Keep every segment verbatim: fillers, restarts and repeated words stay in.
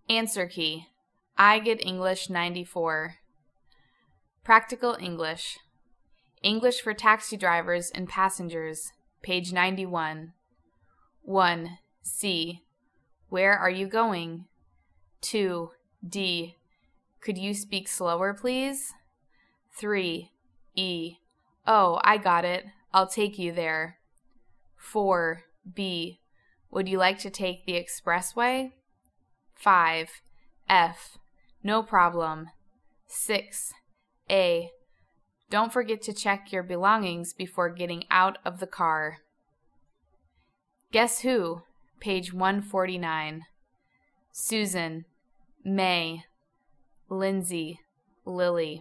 Answer key. I get English ninety-four. Practical English. English for taxi drivers and passengers, page ninety-one. one. C. Where are you going? two. D. Could you speak slower, please? three. E. Oh, I got it. I'll take you there. four. B. Would you like to take the expressway? five. F. No problem. six. A. Don't forget to check your belongings before getting out of the car. Guess who? Page one forty-nine. Susan, May, Lindsay, Lily.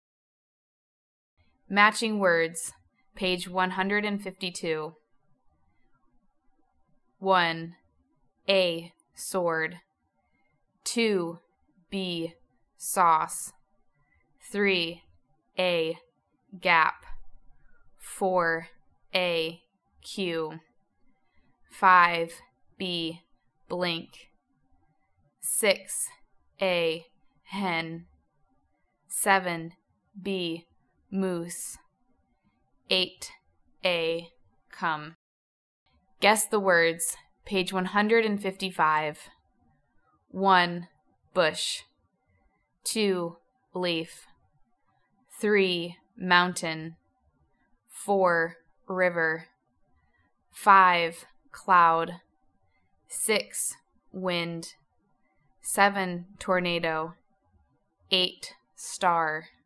Matching words, page one hundred fifty-two. one. A. Sword. two. B. Sauce. three. A. Gap. four. A. Q. five. B. Blink. six. A. Hen. seven. B. Moose. eight. A. Come. Guess the words, page one hundred fifty-five. one. Bush. two. Leaf. three. Mountain. four. River. five. Cloud. six. Wind. seven. Tornado. eight. Star.